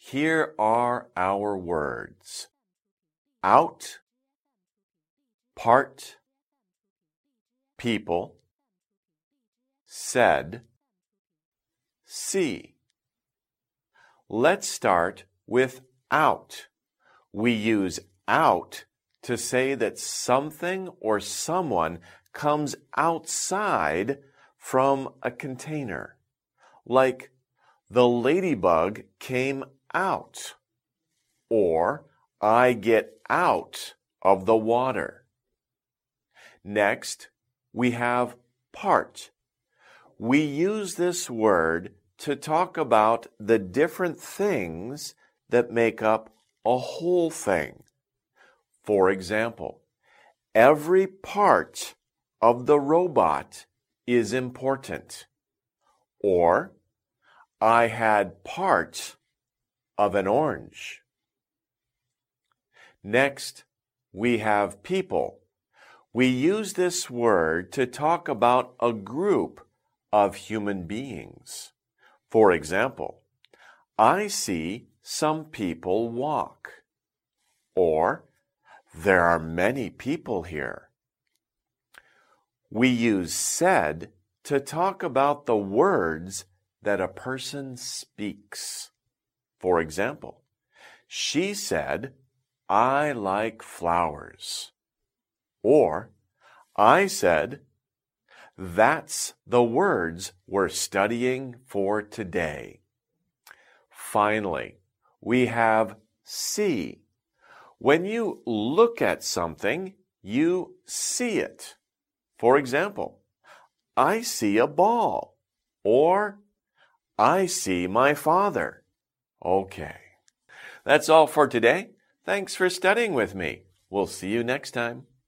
Here are our words: out, part, people, said, see. Let's start with out. We use out to say that something or someone comes outside from a container, like the ladybug came out, or I get out of the water. Next, we have part. We use this word to talk about the different things that make up a whole thing. For example, every part of the robot is important. Or, I had part of an orange. Next, we have people. We use this word to talk about a group of human beings. For example, I see some people walk. Or, there are many people here. We use said to talk about the words that a person speaks. For example, she said, I like flowers. Or, I said, that's the words we're studying for today. Finally, we have see. When you look at something, you see it. For example, I see a ball. Or, I see my father. Okay. That's all for today. Thanks for studying with me. We'll see you next time.